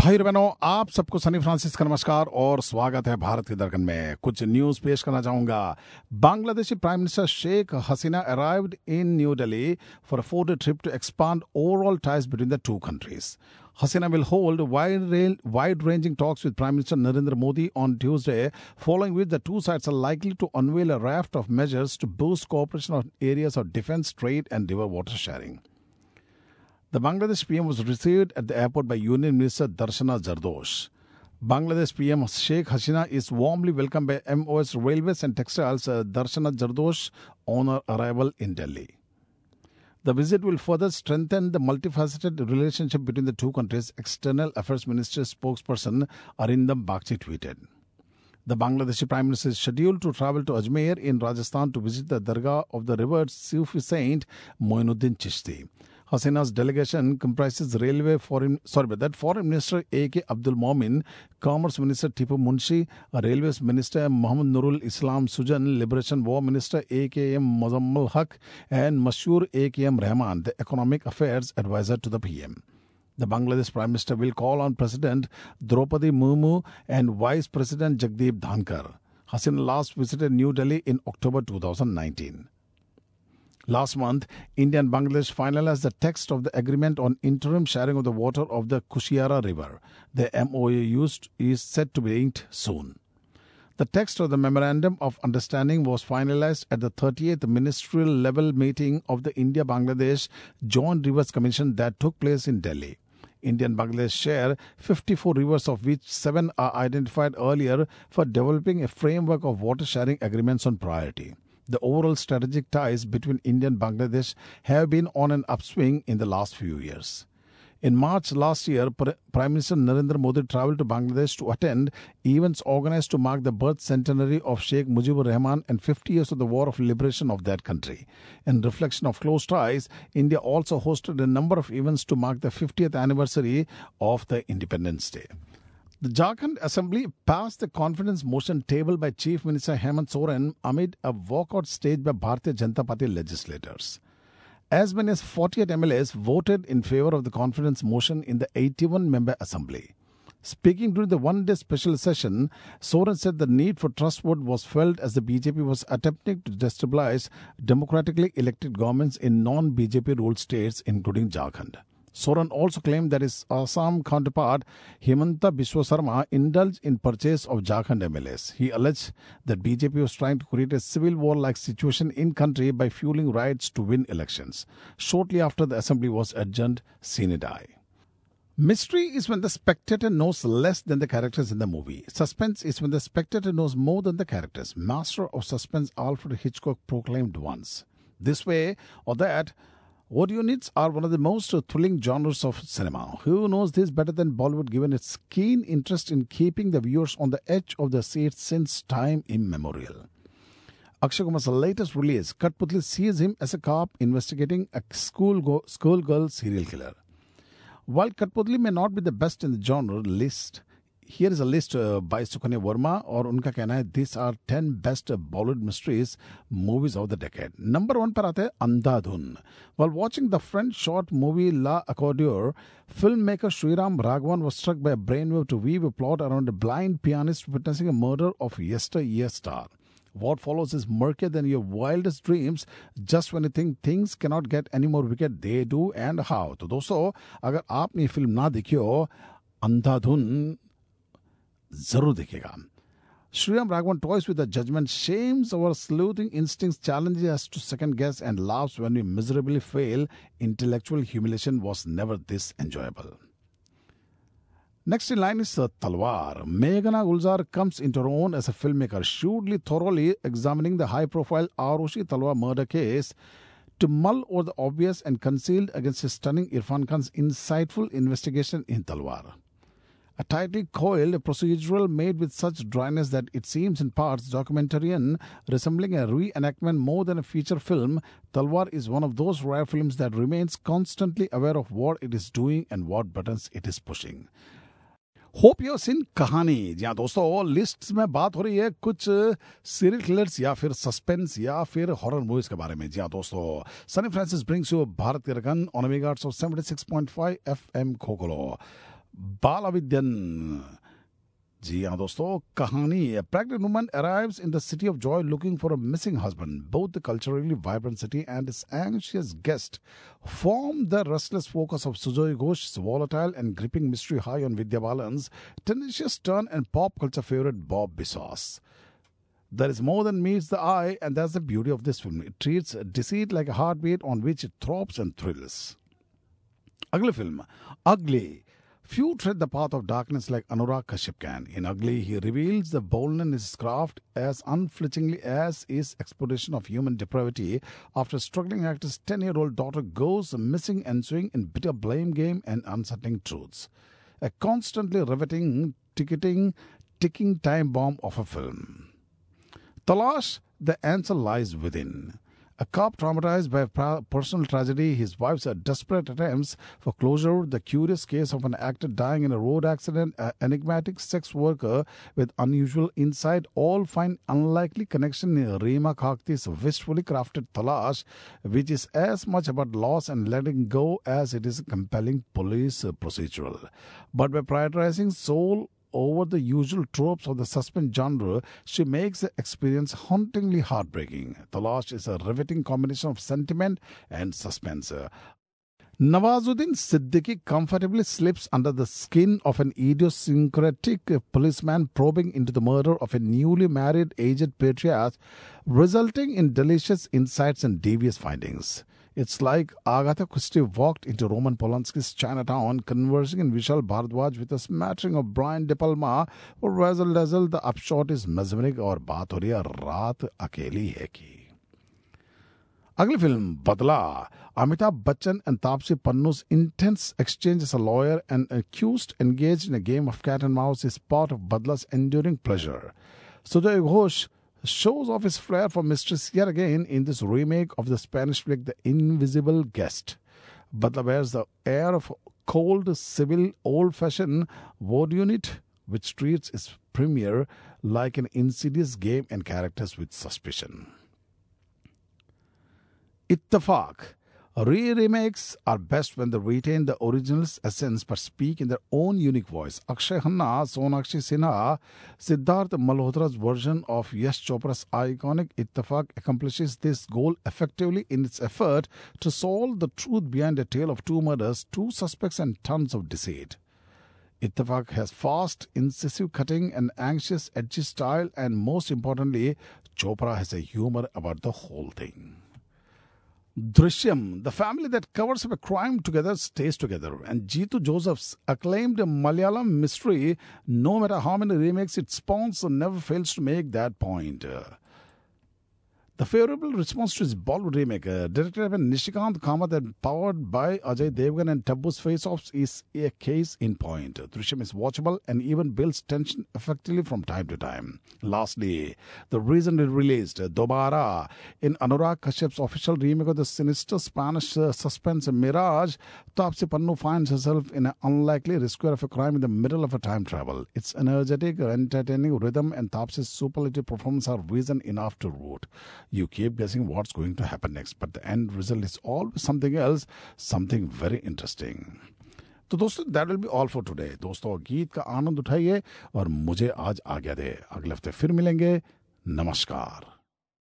भाई बहनों, आप सबको सनी फ्रांसिस का नमस्कार और स्वागत है भारत के दर्पण में। कुछ न्यूज पेश करना चाहूंगा। Bangladeshi prime minister Sheikh Hasina arrived in new Delhi for a 4-day trip to expand overall ties between the two countries. Hasina will hold wide-ranging talks with Prime Minister Narendra Modi on Tuesday, following which the two sides are likely to unveil a raft of measures to boost cooperation on areas of defense, trade, and river water sharing. The Bangladesh PM was received at the airport by Union Minister Darshana Zardosh. Bangladesh PM Sheikh Hasina is warmly welcomed by MOS Railways and Textiles Darshana Zardosh on her arrival in Delhi. The visit will further strengthen the multifaceted relationship between the two countries, External Affairs Ministry spokesperson Arindam Bagchi tweeted. The Bangladeshi Prime Minister is scheduled to travel to Ajmer in Rajasthan to visit the Dargah of the revered Sufi saint Moinuddin Chishti. Hasina's delegation comprises Foreign Minister A.K. Abdul Momin, Commerce Minister Tipu Munshi, Railways Minister Muhammad Nurul Islam Sujan, Liberation War Minister A.K.M. Mozammal Haq, and Mashur A.K.M. Rahman, the Economic Affairs Advisor to the PM. The Bangladesh Prime Minister will call on President Draupadi Murmu and Vice President Jagdeep Dhankar. Hasina last visited New Delhi in October 2019. Last month, India and Bangladesh finalized the text of the agreement on interim sharing of the water of the Kushiara River. The MOU is set to be inked soon. The text of the Memorandum of Understanding was finalized at the 38th ministerial level meeting of the India-Bangladesh Joint Rivers Commission that took place in Delhi. India and Bangladesh share 54 rivers, of which 7 are identified earlier for developing a framework of water sharing agreements on priority. The overall strategic ties between India and Bangladesh have been on an upswing in the last few years. In March last year, Prime Minister Narendra Modi travelled to Bangladesh to attend events organized to mark the birth centenary of Sheikh Mujibur Rahman and 50 years of the War of Liberation of that country. In reflection of close ties, India also hosted a number of events to mark the 50th anniversary of the Independence Day. The Jharkhand Assembly passed the confidence motion tabled by Chief Minister Hemant Soren amid a walkout staged by Bharatiya Janata Party legislators. As many as 48 MLAs voted in favour of the confidence motion in the 81-member Assembly. Speaking during the one-day special session, Soren said the need for trust vote was felt as the BJP was attempting to destabilize democratically elected governments in non-BJP ruled states, including Jharkhand. Soren also claimed that his Assam counterpart Himanta Biswa Sarma indulged in purchase of Jharkhand MLAs. He alleged that BJP was trying to create a civil war-like situation in country by fueling riots to win elections. Shortly after the assembly was adjourned sine die. Mystery is when the spectator knows less than the characters in the movie. Suspense is when the spectator knows more than the characters. Master of suspense Alfred Hitchcock proclaimed once. This way or that, audio units are one of the most thrilling genres of cinema. Who knows this better than Bollywood, given its keen interest in keeping the viewers on the edge of their seats since time immemorial? Akshay Kumar's latest release, Kathputli, sees him as a cop investigating a schoolgirl serial killer. While Kathputli may not be the best in the genre list, here is a list by Sukanya Verma, और उनका कहना है these are 10 best Bollywood mysteries movies of the decade. Number 1 पर आते हैं अंधाधुन. While watching the French short movie La Accordieur, filmmaker Sriram Raghavan was struck by a brainwave to weave a plot around a blind pianist witnessing a murder of yesteryear star. What follows is murkier than your wildest dreams. Just when you think things cannot get any more wicked, they do, and how. तो दोस्तों, अगर आपने ये film ना देखी हो, अंधाधुन जरूर देखिएगा. Sriram Raghavan toys with the judgment, shames our sleuthing instincts, challenges us to second guess, and laughs when we miserably fail. Intellectual humiliation was never this enjoyable. Next in line is Talwar. Meghna Gulzar comes into her own as a filmmaker, shrewdly, thoroughly examining the high-profile Arushi Talwar murder case to mull over the obvious and concealed against his stunning Irfan Khan's insightful investigation in Talwar. A tightly coiled procedural made with such dryness that it seems in parts documentarian, resembling a reenactment more than a feature film, Talwar is one of those rare films that remains constantly aware of what it is doing and what buttons it is pushing. Hope you सिन कहानी. जी हाँ दोस्तों, list में बात हो रही है कुछ serial killers या फिर सस्पेंस या फिर हॉरर मूवीज के बारे में. जी हाँ दोस्तों, Sunny Francis brings you Bharat के रगन ऑन मेगाहर्ट्ज ऑफ 76.5 FM खोखलो. बालाविद्यन। जी हाँ दोस्तों, कहानी A pregnant woman arrives in the city of joy looking for a missing husband. Both the culturally vibrant city and its anxious guest form the restless focus of Sujoy Ghosh's volatile and gripping mystery high on Vidya Balan's tenacious turn and pop culture favorite Bob Biswas. There is more than meets the eye, and that's the beauty of this film. It treats deceit like a heartbeat on which it throbs and thrills. Ugly film, Ugly. Few tread the path of darkness like Anurag Kashyap can. In Ugly, he reveals the boldness in his craft as unflinchingly as his exploration of human depravity after struggling actor's 10-year-old daughter goes missing, ensuing in bitter blame game and unsettling truths. A constantly riveting, ticking time bomb of a film. Talash, the answer lies within. A cop traumatized by a personal tragedy, his wife's desperate attempts for closure, the curious case of an actor dying in a road accident, an enigmatic sex worker with unusual insight, all find unlikely connection in Reema Khakti's wistfully crafted Talash, which is as much about loss and letting go as it is a compelling police procedural. But by prioritizing soul over the usual tropes of the suspense genre, she makes the experience hauntingly heartbreaking. Talash is a riveting combination of sentiment and suspense. Nawazuddin Siddiqui comfortably slips under the skin of an idiosyncratic policeman probing into the murder of a newly married aged patriarch, resulting in delicious insights and devious findings. It's like Agatha Christie walked into Roman Polanski's Chinatown, conversing in Vishal Bhardwaj with a smattering of Brian De Palma. For Razzle Dazzle, the upshot is mesmeric और बात हो रही है रात अकेली है की. Ugly film, Badla. Amitabh Bachchan and Taapsee Pannu's intense exchange as a lawyer and accused engaged in a game of cat and mouse is part of Badla's enduring pleasure. Sujoy Ghosh shows off his flair for mistress yet again in this remake of the Spanish flick The Invisible Guest. Badla bears the air of cold, civil, old-fashioned ward unit which treats its premiere like an insidious game and characters with suspicion. Ittefaq. Remakes are best when they retain the original's essence but speak in their own unique voice. Akshay Khanna, Sonakshi Sinha, Siddharth Malhotra's version of Yash Chopra's iconic Ittefaq accomplishes this goal effectively in its effort to solve the truth behind a tale of two murders, two suspects and tons of deceit. Ittefaq has fast, incisive cutting and anxious, edgy style, and most importantly, Chopra has a humor about the whole thing. Drishyam, the family that covers up a crime together stays together, and Jeetu Joseph's acclaimed Malayalam mystery, no matter how many remakes it spawns, never fails to make that point. The favorable response to his Bollywood remake, directed by Nishikant Kamath and powered by Ajay Devgan and Taboo's face-offs, is a case in point. Drishyam is watchable and even builds tension effectively from time to time. Lastly, the recently released Dobara, in Anurag Kashyap's official remake of the sinister Spanish suspense Mirage, Taapsee Pannu finds herself in an unlikely rescue of a crime in the middle of a time travel. Its energetic, entertaining rhythm and Taapsee's superlative performance are reason enough to root. You keep guessing what's going to happen next, but the end result is always something else, something very interesting. तो दोस्तों, that will be all for today. दोस्तों, गीत का आनंद उठाइए और मुझे आज आज्ञा दे. अगले हफ्ते फिर मिलेंगे. नमस्कार.